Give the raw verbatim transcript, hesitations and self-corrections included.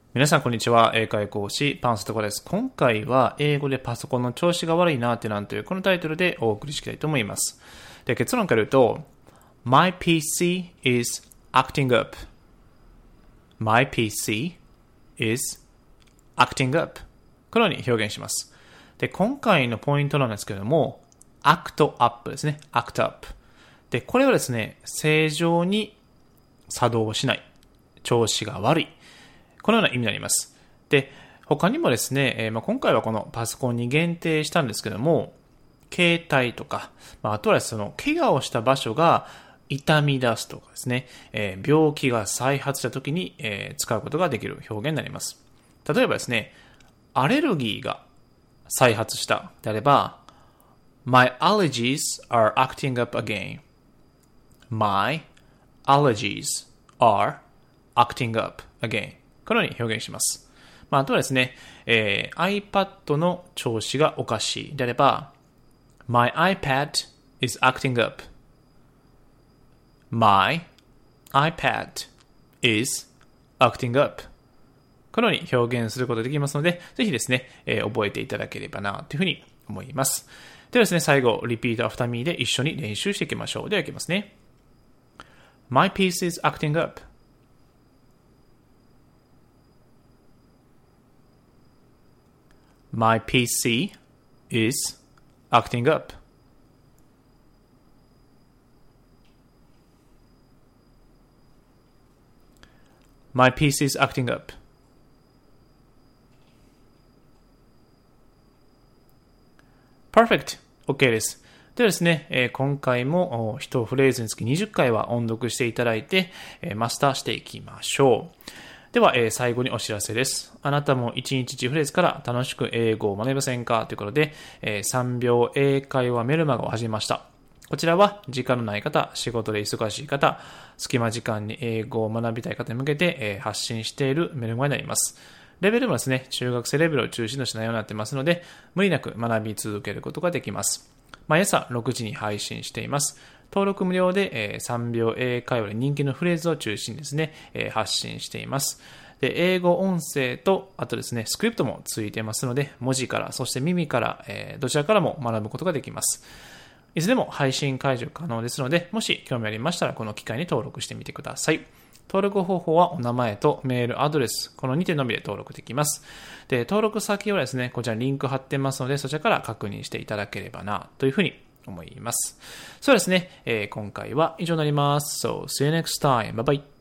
皆さんこんにちは。英会講師パンストコです。今回は英語でパソコンの調子が悪いなってなんというこのタイトルでお送りしたいと思います。で、結論から言うと My ピーシー is acting up. My ピーシー is acting up. このように表現します。で、今回のポイントなんですけれども act up ですね。act up。で、これはですね、正常に作動しない。調子が悪い。このような意味になります。で、他にもですね、えーまあ、今回はこのパソコンに限定したんですけども、携帯とか、まあ、あとはその怪我をした場所が痛み出すとかですね、えー、病気が再発した時に、えー、使うことができる表現になります。例えばですね、アレルギーが再発したであれば、My allergies are acting up again. My allergies are acting up again.このように表現します。まあ、あとはですね、えー、iPad の調子がおかしいであれば、My iPad is acting up. My iPad is acting up. このように表現することができますので、ぜひですね、えー、覚えていただければなというふうに思います。ではですね、最後、Repeat after me で一緒に練習していきましょう。では、いきますね。My piece is acting up.My ピーシー is acting up. My ピーシー is acting up. Perfect. OK です。ではですね、えー、今回も一フレーズにつきにじゅっかいは音読していただいて、えー、マスターしていきましょう。では、えー、最後にお知らせです。あなたもいちにちいちフレーズから楽しく英語を学べませんかということで、えー、さんびょう英会話メルマガを始めました。こちらは時間のない方、仕事で忙しい方、隙間時間に英語を学びたい方に向けて、えー、発信しているメルマガになります。レベルもですね、中学生レベルを中心とした内容になっていますので、無理なく学び続けることができます。毎朝ろくじに配信しています。登録無料で、えー、さんびょう英会話で人気のフレーズを中心にですね、えー、発信しています。で、英語音声と、あとですね、スクリプトもついてますので、文字から、そして耳から、えー、どちらからも学ぶことができます。いつでも配信解除可能ですので、もし興味ありましたら、この機会に登録してみてください。登録方法はお名前とメール、アドレス、このにてんのみで登録できます。で、登録先はですね、こちらリンク貼ってますので、そちらから確認していただければな、というふうに思います。そうですね、えー、今回は以上になります。So, see you next time. Bye bye.